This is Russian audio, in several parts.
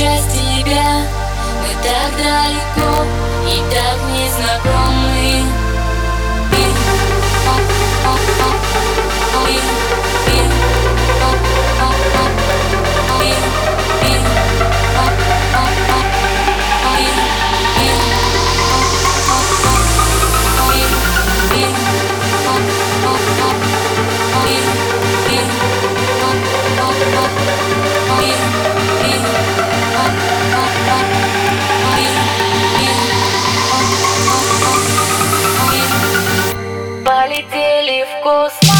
часть тебя. Мы так далеко и так незнакомы. Полетели в космос.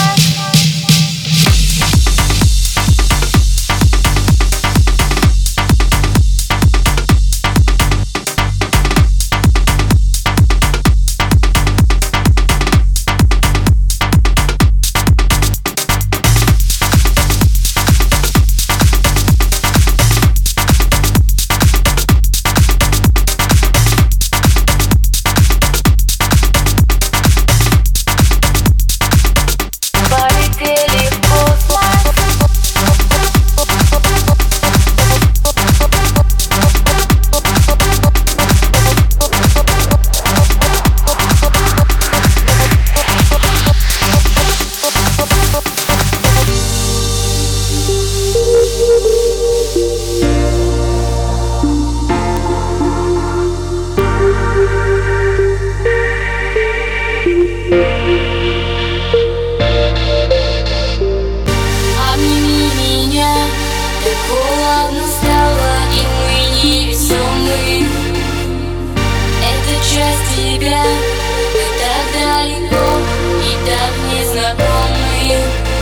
Обними меня, так холодно стало, и мы невесомы. Это часть тебя, мы так далеко и так незнакомы.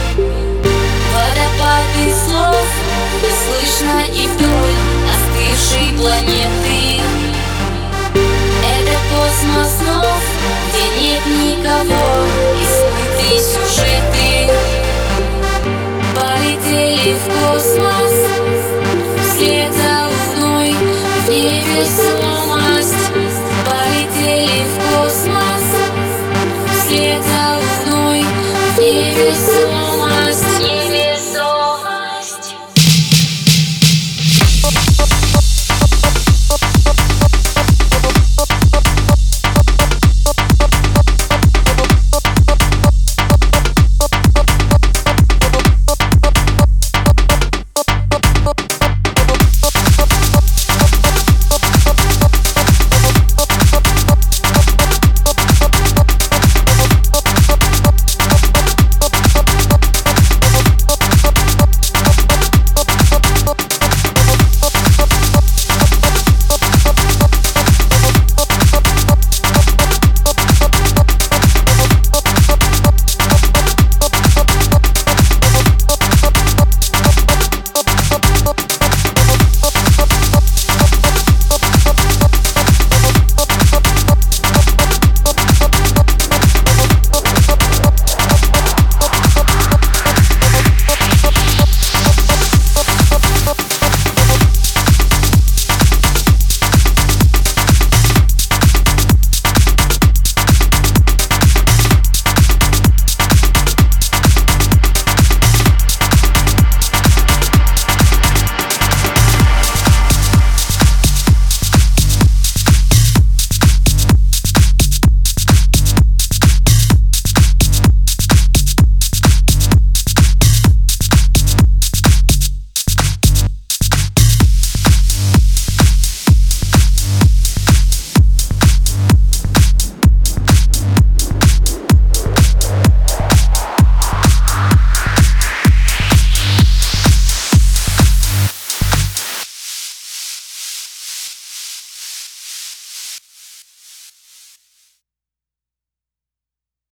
Водопады слов не слышно и вдоль остывшей планеты. Это космос снов, где нет никого, и смыты сюжеты. Полетели в космос вслед за луной в невесомость. Полетели в космос вслед за луной в невесомость.